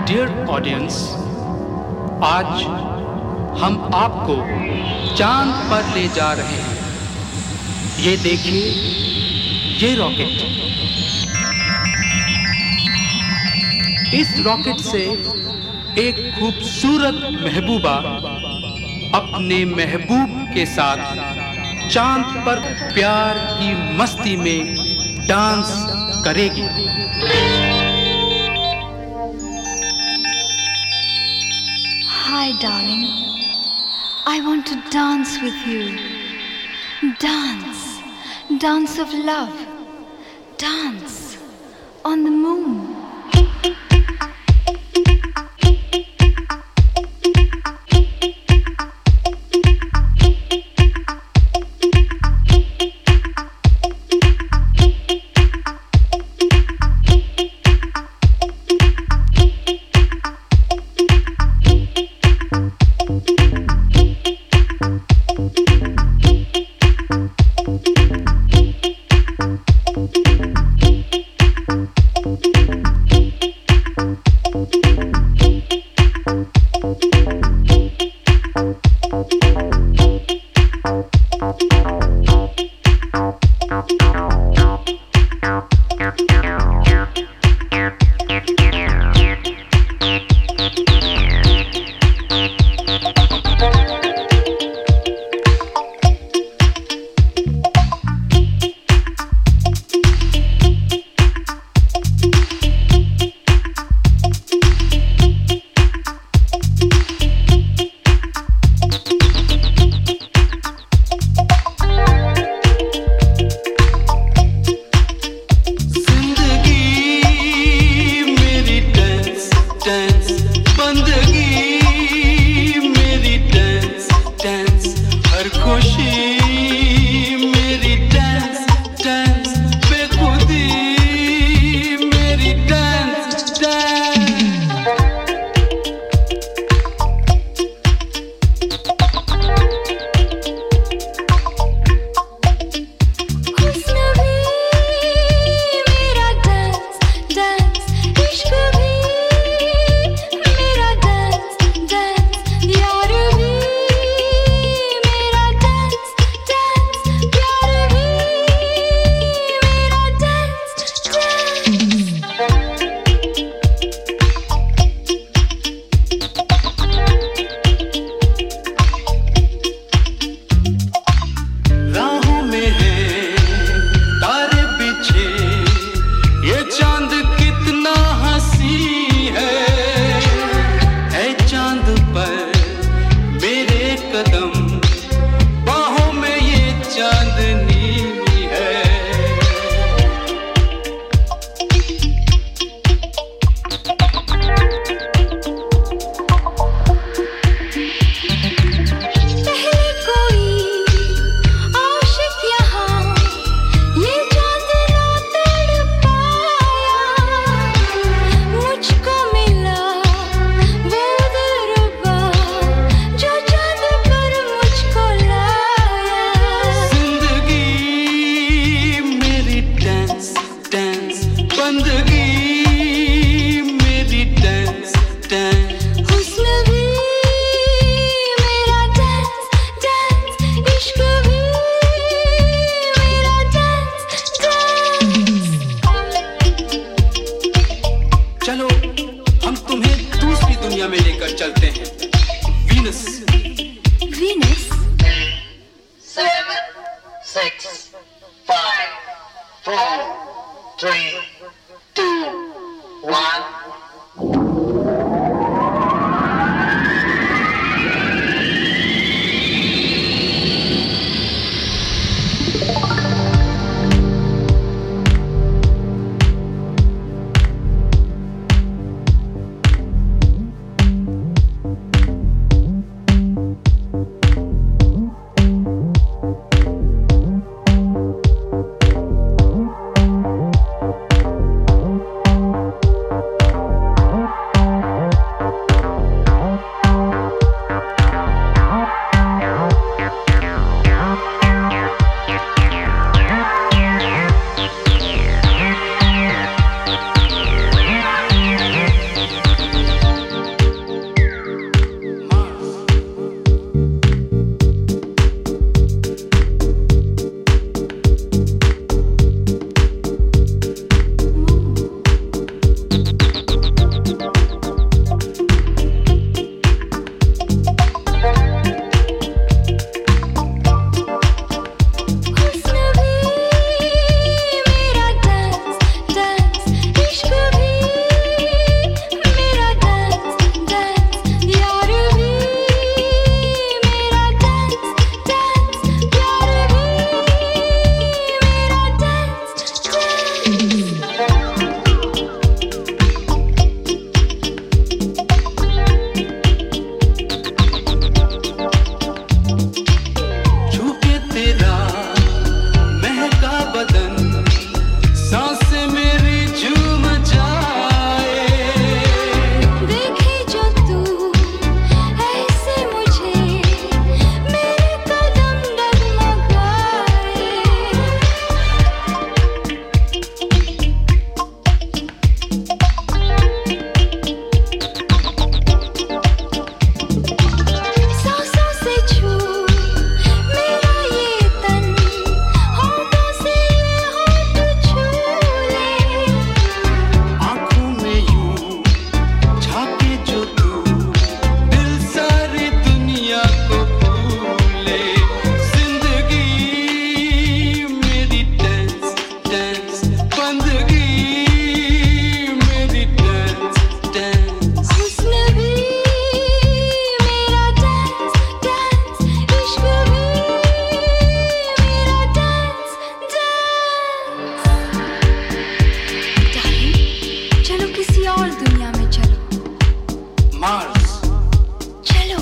Dear audience, आज हम आपको चांद पर ले जा रहे हैं। ये देखिए, ये रॉकेट। इस रॉकेट से एक खूबसूरत महबूबा अपने महबूब के साथ चांद पर प्यार की मस्ती में डांस करेगी। Hi, darling. I want to dance with you. Dance. Dance of love. Dance on the moon. Mars. चलो।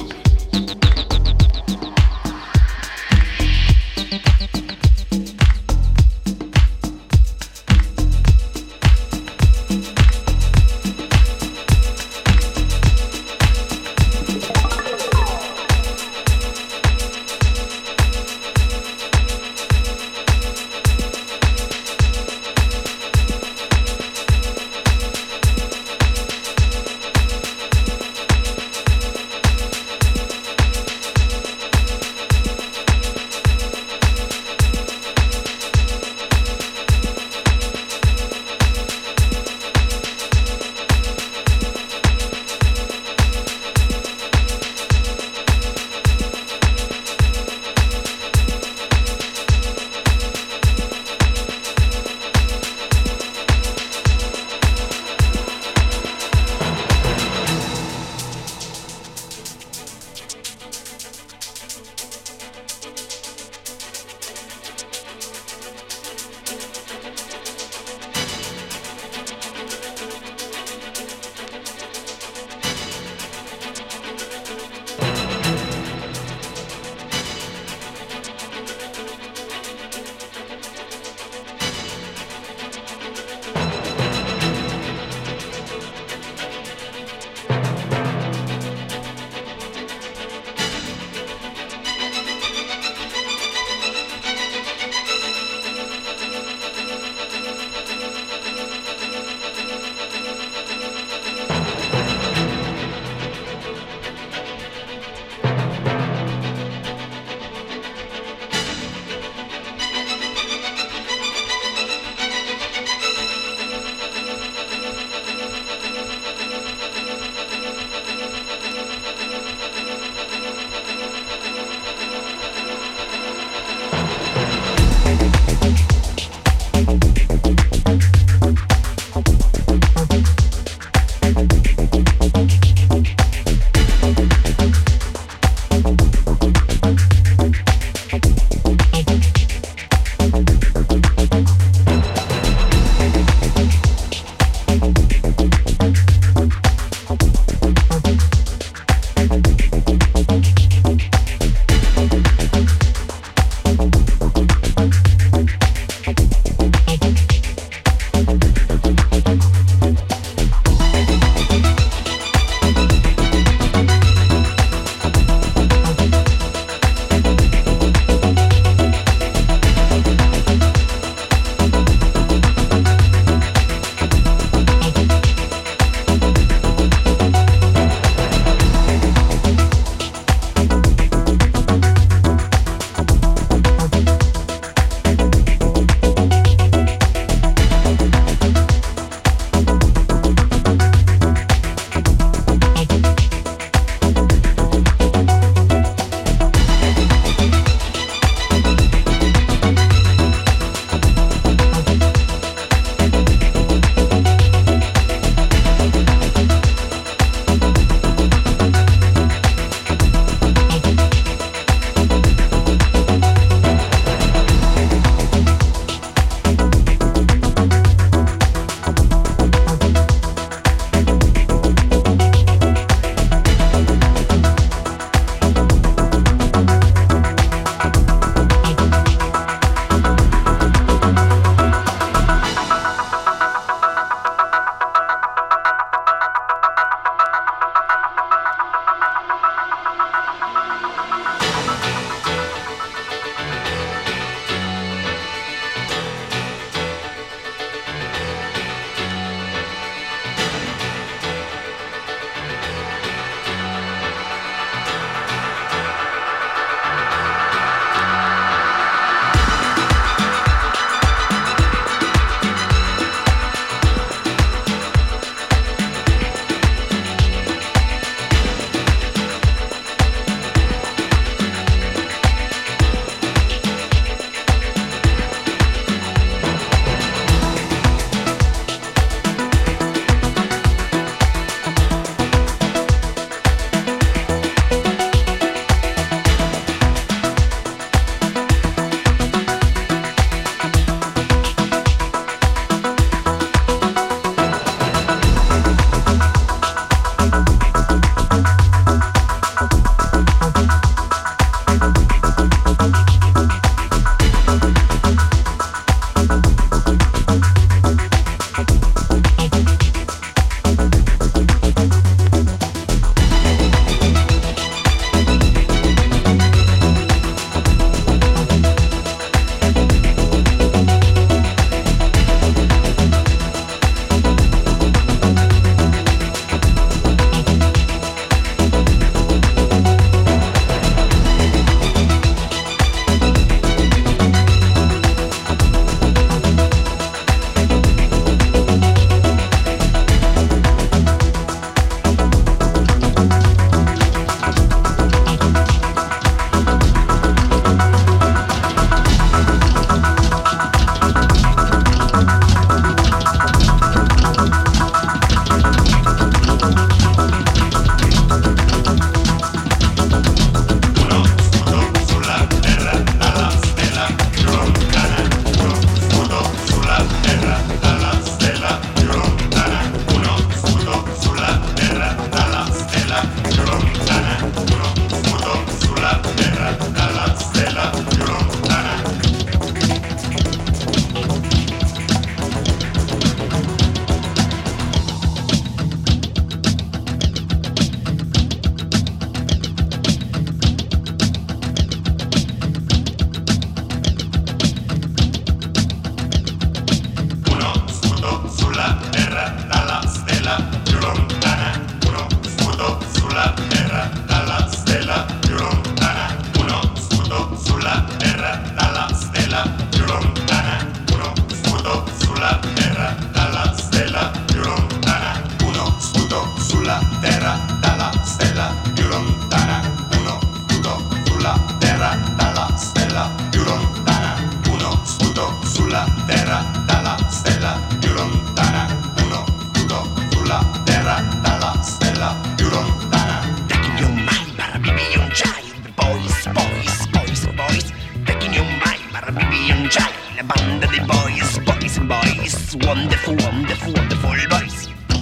wonderful, wonderful, wonderful boys.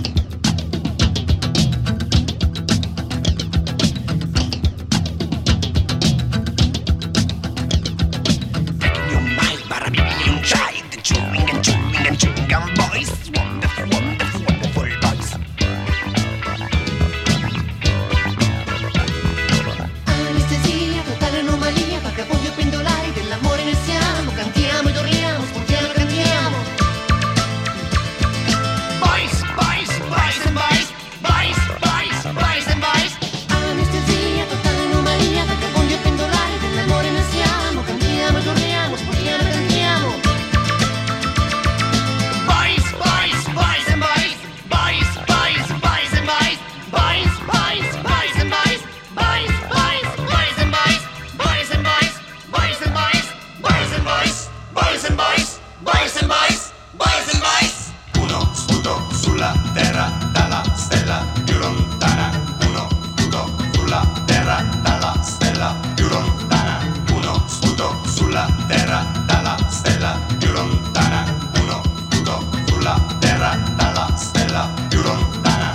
Taking your mind, but I'm being child, chewing and chewing and chewing gum boys. Wonderful, wonderful, wonderful boys. Anestesia, totale anomalia, vagabondi o pendolari, dell'amore ne siamo, cantiamo ed urliamo, sportiamo e cantiamo. Boys, boys, boys and boys, boys, boys, boys and boys. Anestesia, totale anomalia, vagabondi o pendolari, dell'amore ne siamo, cantiamo ed urliamo, sportiamo e cantiamo. Boys, boys, boys and boys, boys, boys, boys and boys, boys, boys, boys and boys, boys, boys, boys and boys, boys and boys, boys and boys, boys and boys, boys and boys, boys and boys, boys and boys. Uno sputo sulla terra dalla stella più lontana. Uno sputo sulla terra dalla stella più lontana. Uno sputo sulla terra dalla stella più lontana. Uno sputo sulla terra dalla stella più lontana.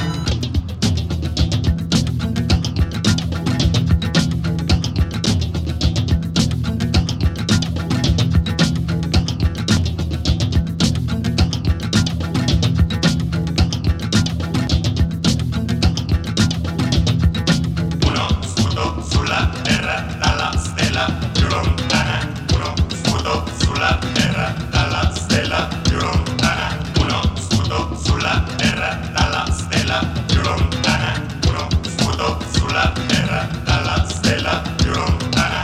Uno sputo sulla terra dalla stella più lontana. Uno sputo sulla terra dalla stella più lontana. Uno sputo sulla terra dalla stella più lontana. Uno sputo sulla terra dalla stella più lontana.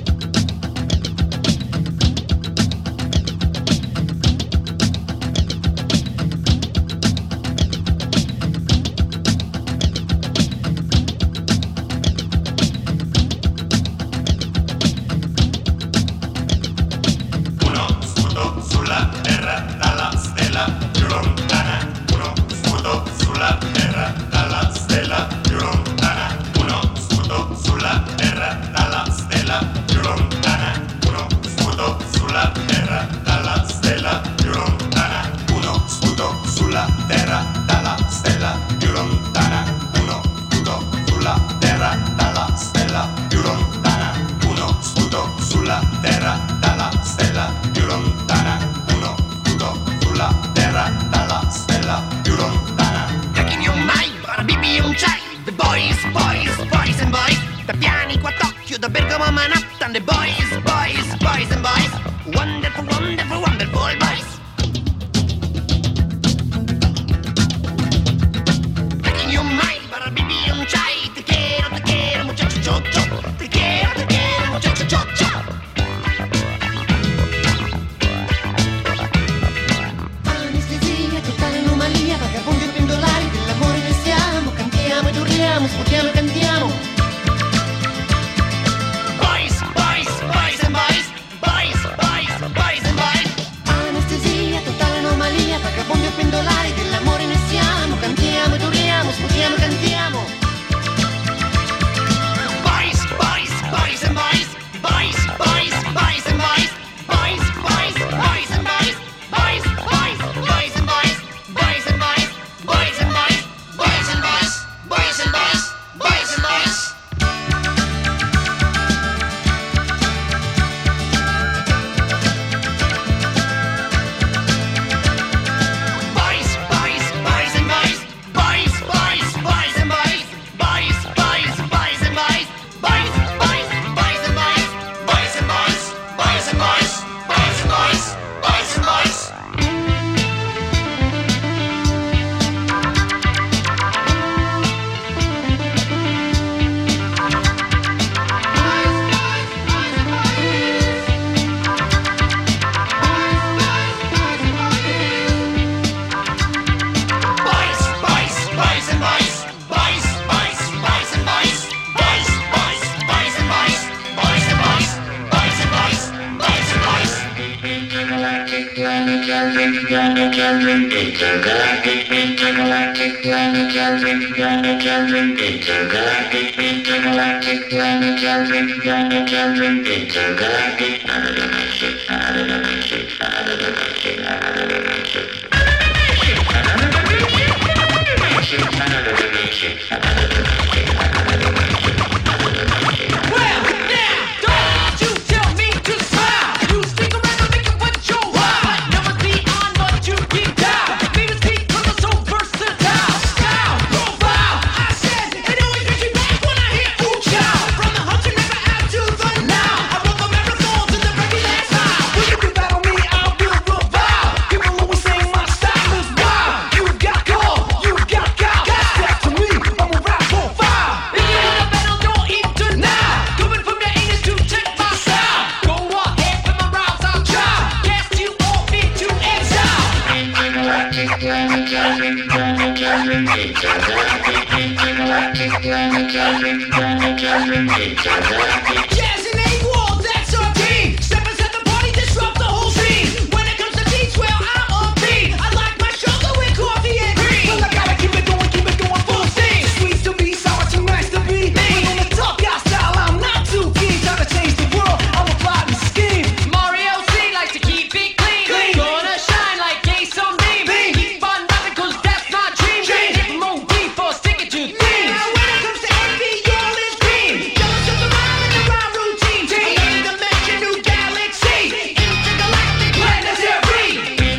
Uno sputo sulla terra dalla stella più lontana. Uno sputo sulla terra dalla stella più lontana. Uno sputo sulla terra dalla stella più lontana. Uno sputo sulla terra dalla stella più lontana. Uno sputo sulla terra dalla stella più lontana. Uno sputo sulla terra dalla stella più lontana. Uno sputo sulla terra dalla stella più lontana. Uno sputo sulla terra dalla stella più lontana. Taking your mind, but baby un child. The boys, boys, boys and boys. Da Piani qua Tokyo, da Bergamo a Manhattan. The boys, boys, boys and boys. Wonderful, wonderful, wonderful boys. Taking your mind, but baby un child. Te quiero, muchacho, cho, cho. Te quiero, muchacho, cho, cho. Anestesia, totale anomalia, vagabondi o pendolari, dell'amore ne siamo, cantiamo ed urliamo, sportiamo e cantiamo. Boys, boys, boys and boys. Boys, boys, boys and boys. Anestesia, totale anomalia, vagabondi o pendolari, dell'amore ne siamo, cantiamo ed urliamo, sportiamo e cantiamo. Boys, boys, boys and boys. Boys, boys, boys and boys. Boys, boys, boys and boys. Boys, boys, boys and boys. Boys and boys. Boys and boys. Boys and boys. Boys and boys. Boys and boys. Boys, boys, boys and boys. Boys, boys, boys and boys. Boys, boys, boys and boys. Boys, boys, boys and boys. Boys and boys. Boys and boys. Boys and boys. Boys and boys. Boys, boys, boys and boys. Boys, boys, boys and boys. Boys, boys, boys and boys. Boys and boys. Boys and boys. Boys and boys. Intergalactic Jazz and A-Wall, that's our team. Step inside the party, disrupt the whole scene. When it comes to beats, well, I'm on beat. I like my sugar with coffee and cream. Well, I gotta keep it going full steam. Sweet to be, sour to nice to be. When on the top guy style, I'm not too keen. Trying to change the world, I'm a plotting scheme. Mario C likes to keep it clean. Gonna shine like Ace on beam. Keep on rapping, cause that's my dream. Hit more deep or stick it to theme. Now when it comes to envy, all is green. Jealous of the rhyme and the rhyme routine. Another dimension, new galaxy. Intergalactic planetary.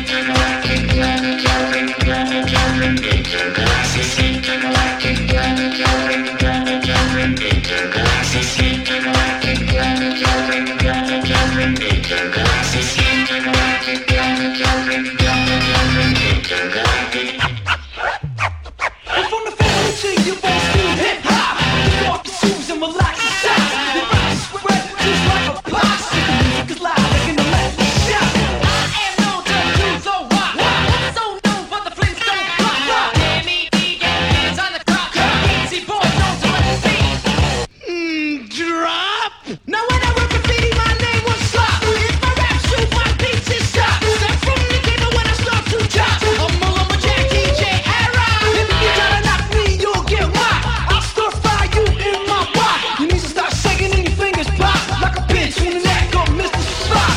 And from the family to your boss, new hip-hop. Just off your shoes and relax the socks. Your rhymes spread just like a box. The music is loud like an electric shock. I am known to do the rock. So known for the Flintstone clock. MED, get hands on the clock. Easy boys, known to let it be. Drop. Now when I rap graffiti, my name was Slop. If my rap shoot, my beats is stop. Step from the table when I start to chop. I'm a lumber Jack DJ era. If you try to knock me, you'll get whacked. I'll stir fry you in my pot. You need to start shaking and your fingers pop like a bitch in the neck of Mr. Spock.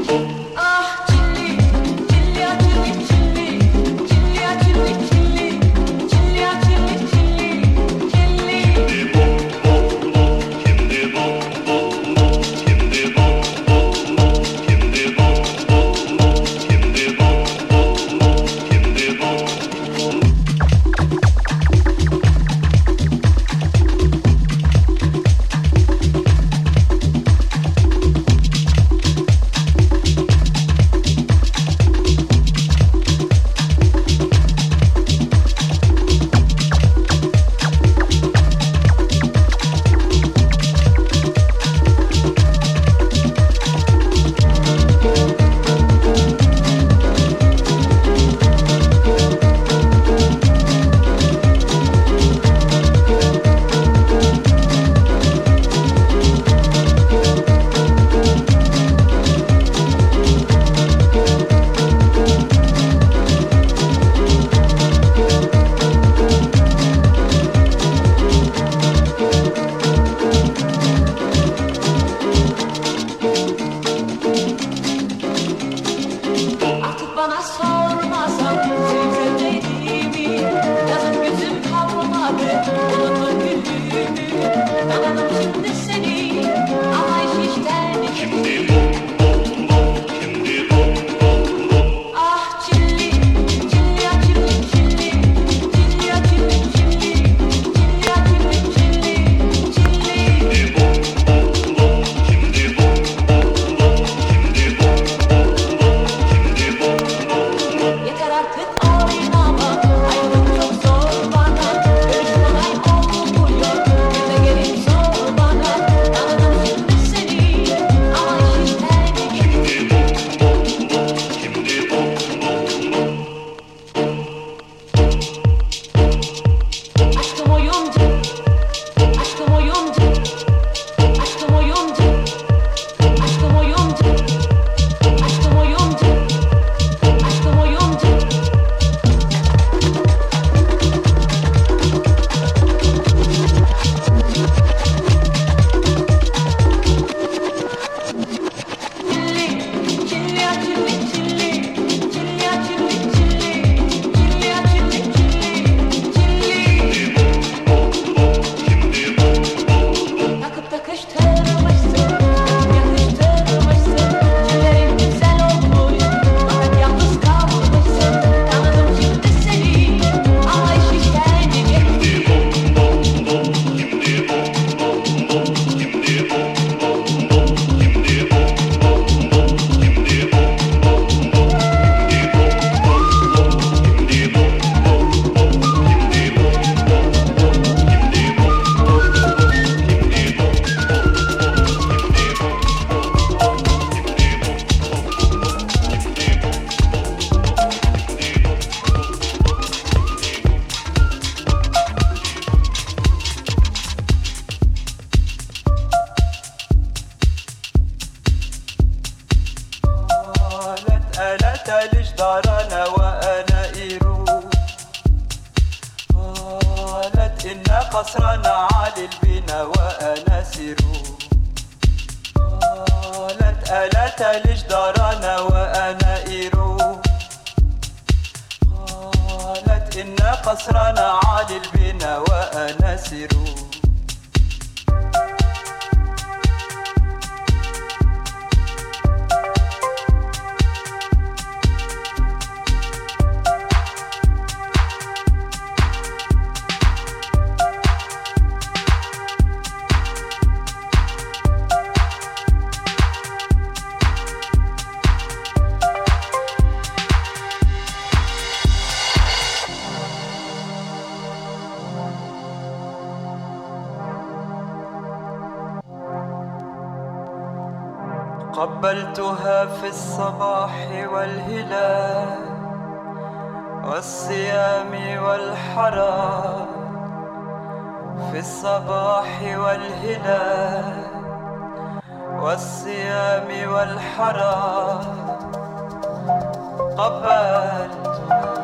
قصرنا عالي البنا وأناسر قالت ألا لجدارنا وأنائر قالت إن قصرنا عالي البنا وأناسر قبلتها في الصباح والهلال والصيام والحرام في الصباح والهلال والصيام والحرام قبلتها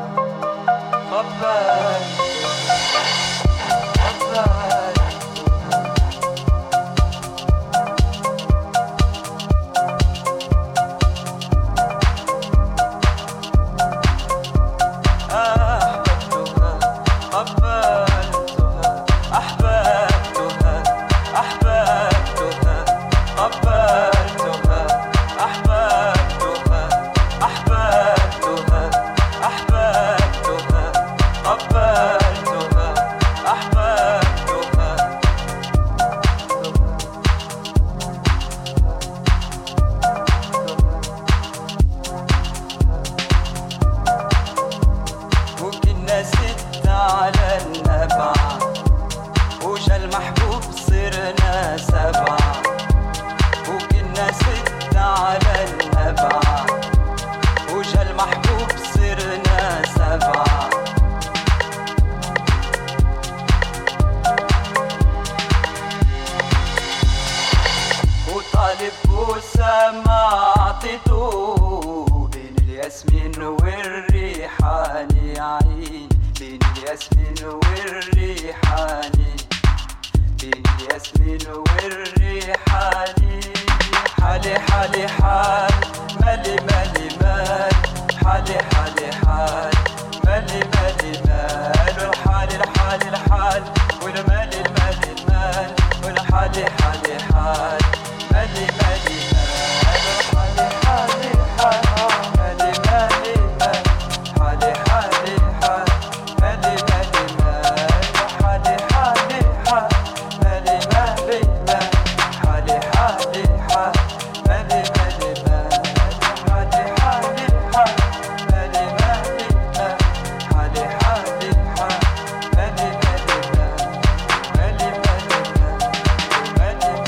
الياسمين والريحاني عين بين الياسمين والريحاني بين الياسمين والريحاني حالي حالي حال مالي مالي مال حالي حالي حال مالي مالي مال والحال الحال الحال والمال المال المال والحالي حالي حال مالي مالي مال والحالي حالي حال مالي مالي مال حالي حالي حال مالي مالي مال وحالي حالي حال مالي مالي مال حالي حالي حال مالي مالي مال حالي حالي حال مالي مالي مال حالي حالي حال مالي مالي مال مالي مالي مال مالي مالي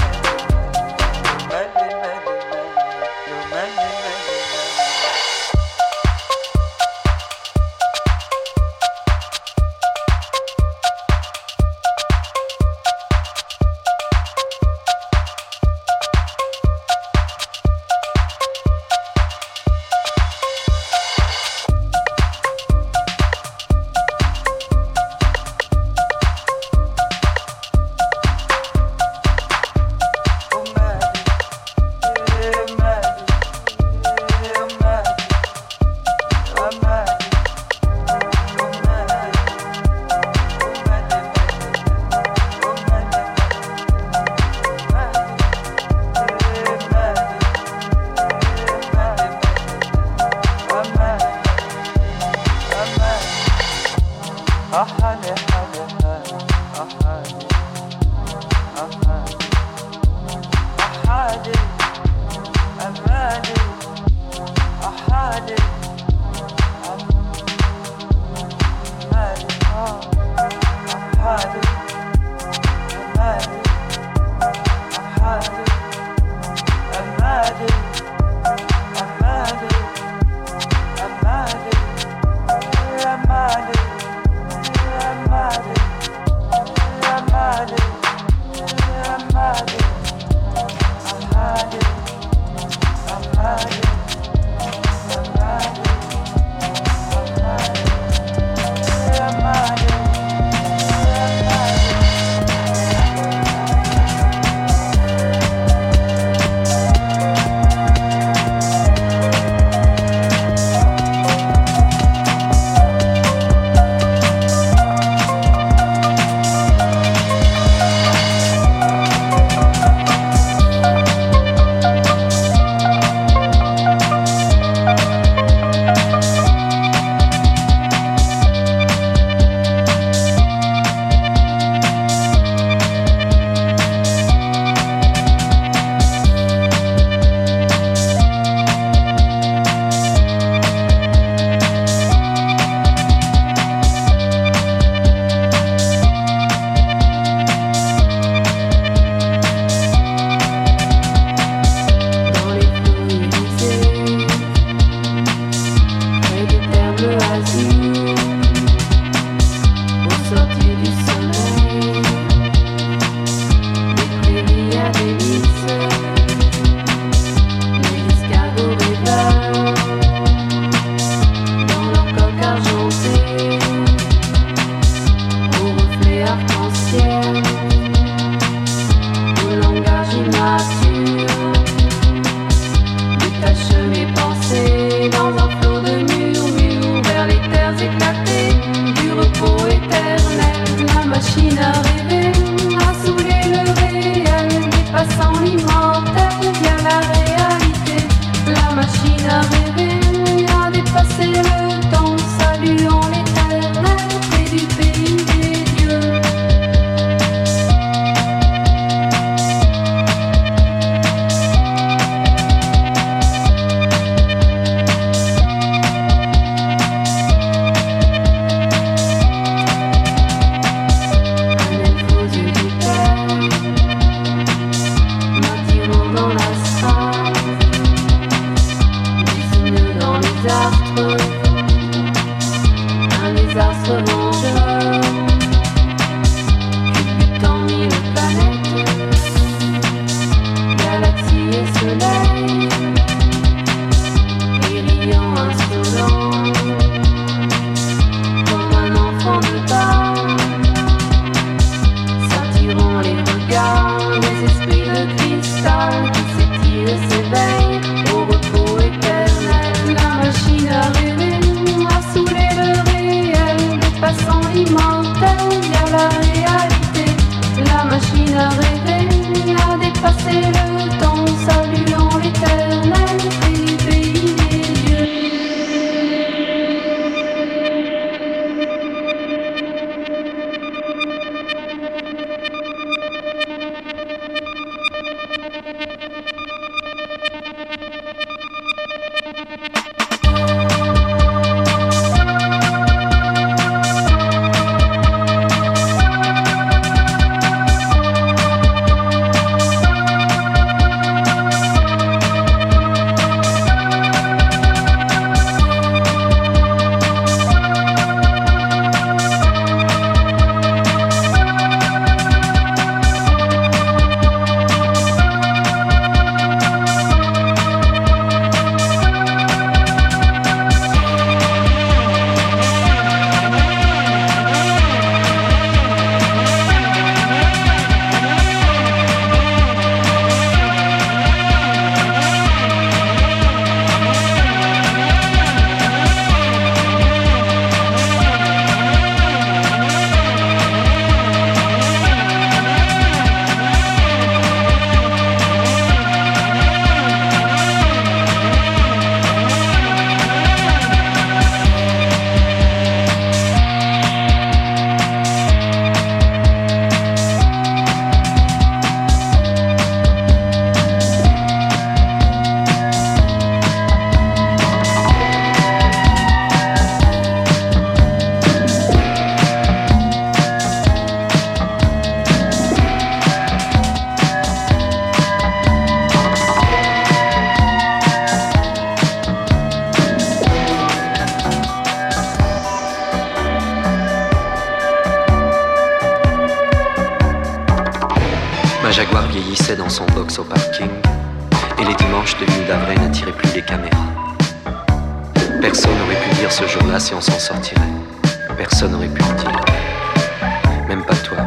Jaguar vieillissait dans son box au parking, et les dimanches de l'île d'Avray n'attiraient plus les caméras. Personne n'aurait pu dire ce jour-là si on s'en sortirait. Personne n'aurait pu le dire. Même pas toi.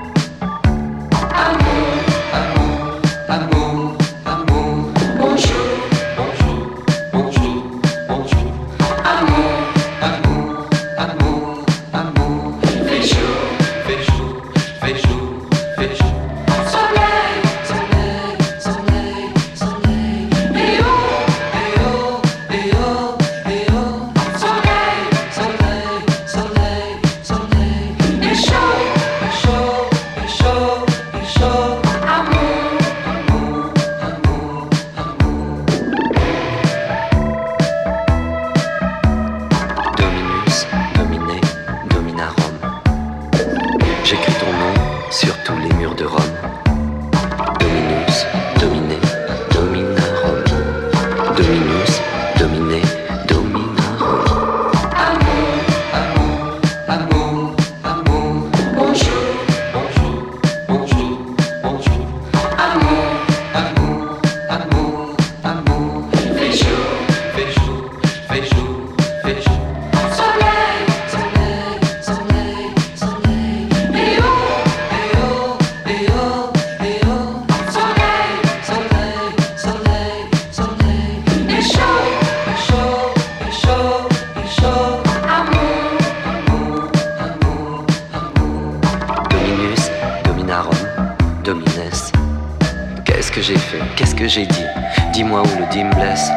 Qu'est-ce que j'ai dit? Dis-moi où le dit me blesse.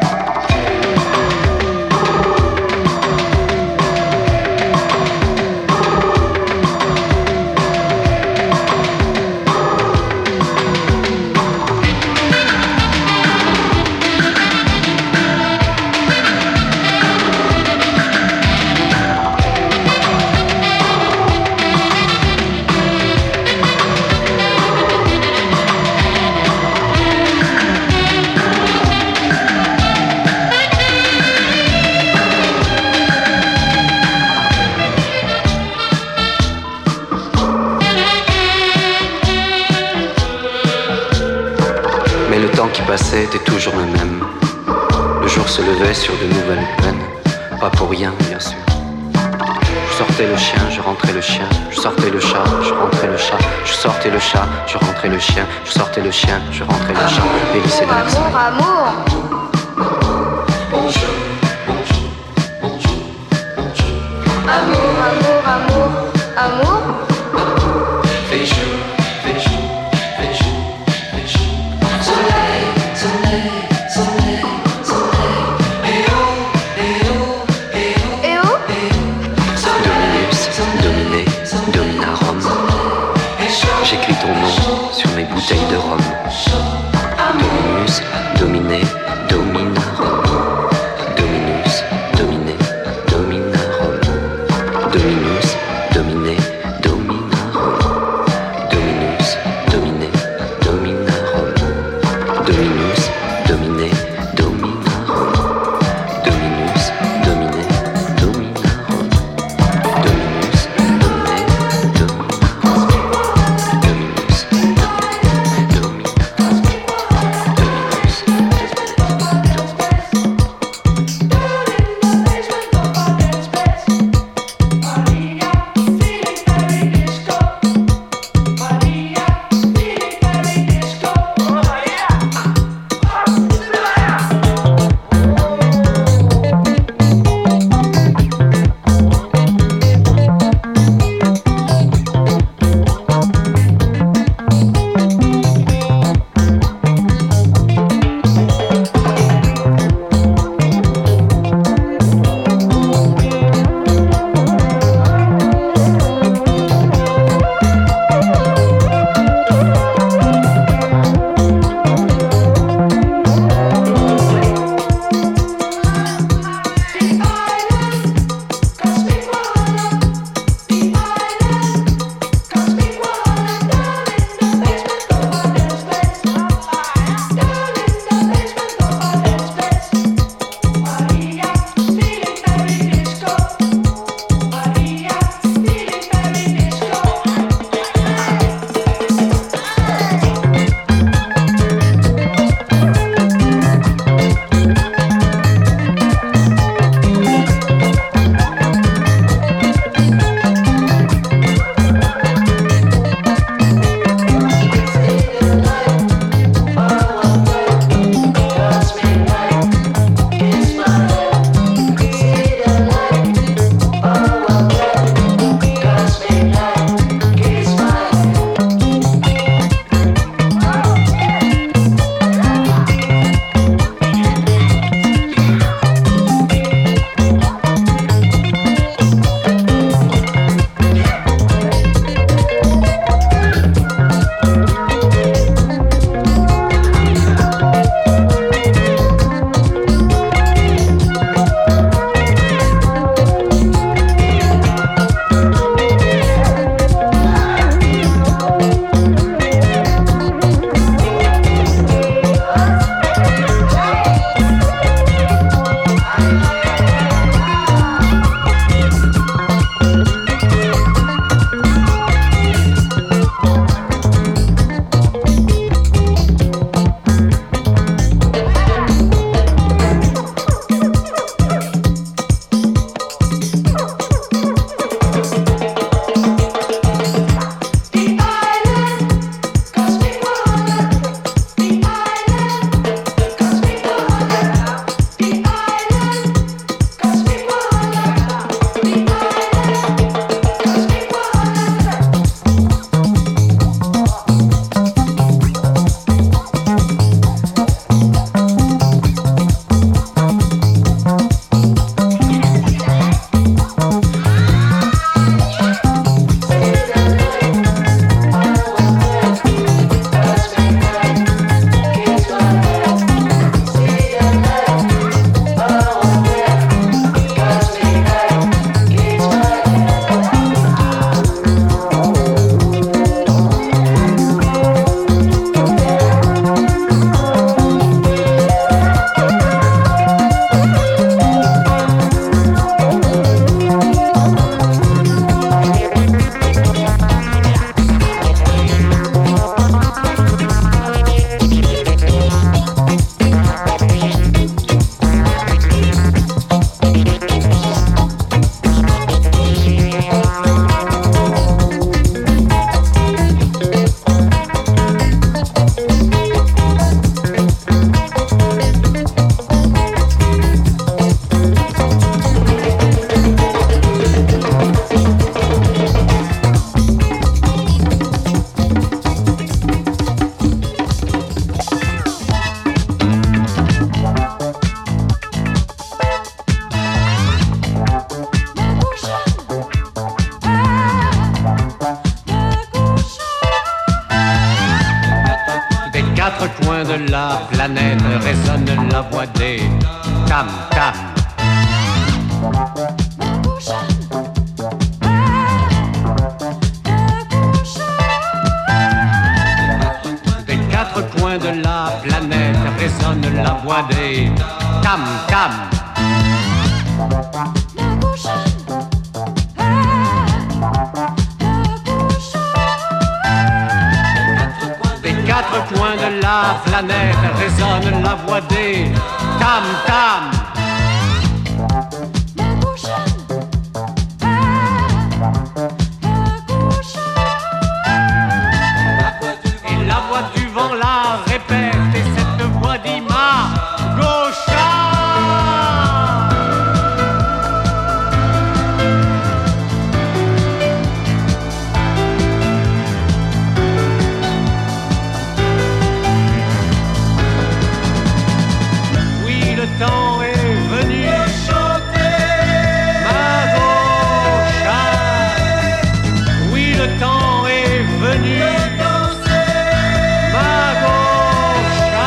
Était toujours le même. Le jour se levait sur de nouvelles peines. Pas pour rien, bien sûr. Je sortais le chien, je rentrais le chien. Je sortais le chat, je rentrais le chat. Je sortais le chat, je rentrais le chien. Je sortais le chien, je rentrais le chat. Et lycée de Amour, amour. Bonjour, bonjour, bonjour, bonjour. Amour, amour, amour, amour. Fais jour, fais jour, fais jour, fais jour. Soleil, soleil, soleil, soleil. Eh oh, eh oh, eh oh. Et où? Dominus, dominé, dominarum. J'écris ton nom sur mes bouteilles de rhum. Dominus, dominé, la planète résonne la voix des tam-tam. Des quatre coins de la planète résonne la voix des tam-tam. Des quatre coins de la planète résonne la voix des tam-tam. Et la voix du vent la répète et cette voix dit ma gaucha. Oui, le temps est venu chanter ma gaucha. Oui, le temps est venu danser ma gaucha.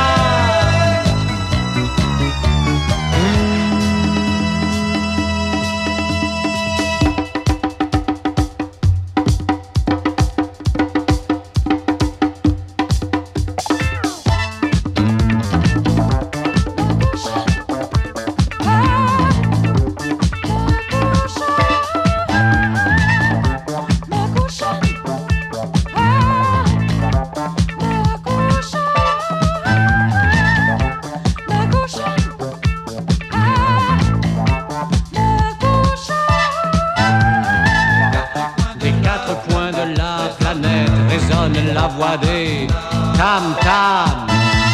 Des quatre coins de la planète résonne la voix des tam-tam.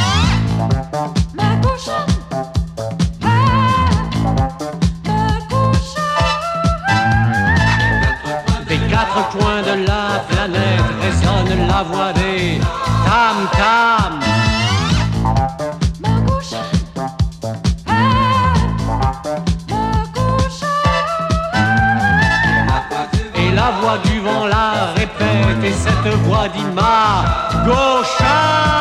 Des quatre coins de la planète résonne la voix des tam-tam. Et la voix du vent la répète et cette voix dit ma gaucha.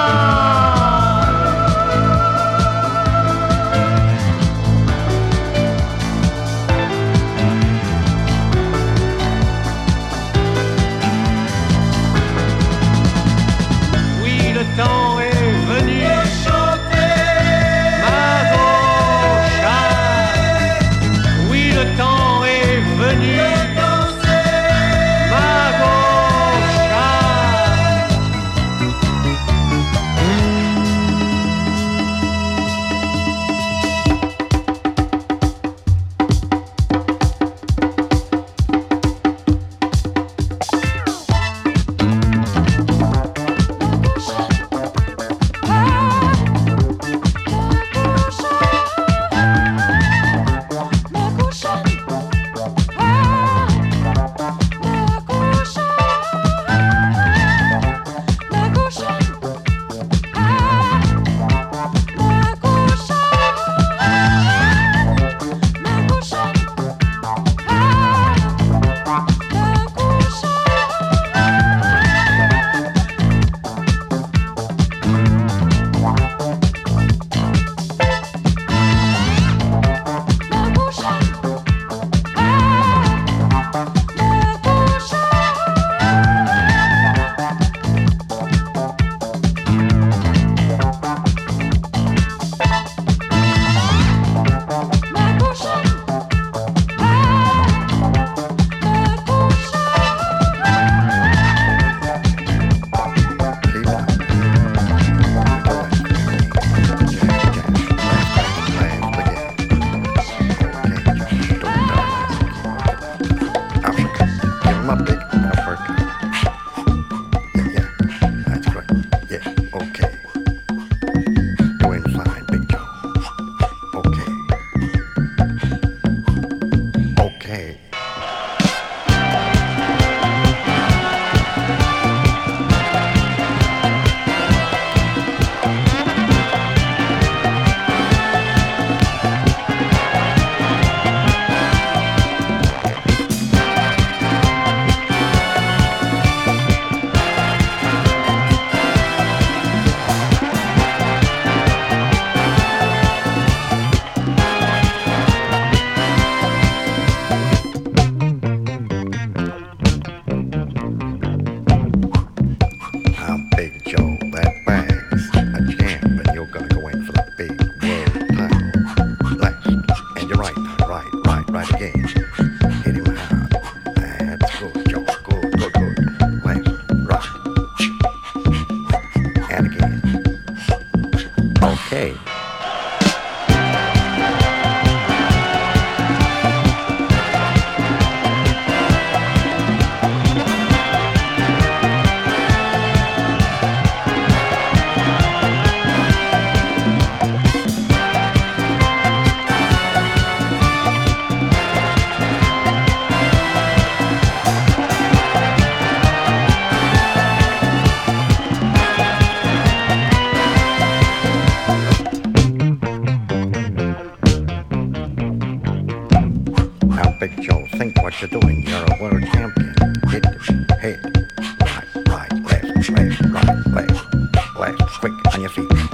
Oui, le temps est venu chanter ma gaucha. Oui, le temps est venu danser ma gaucha. right again. Hit him hard. That's good, Joe. Good, good, good. Left, right. And again. Okay. Big Joe, think what you're doing. You're a world champion. Hit the head. Right, left, right, left. Quick, on your feet.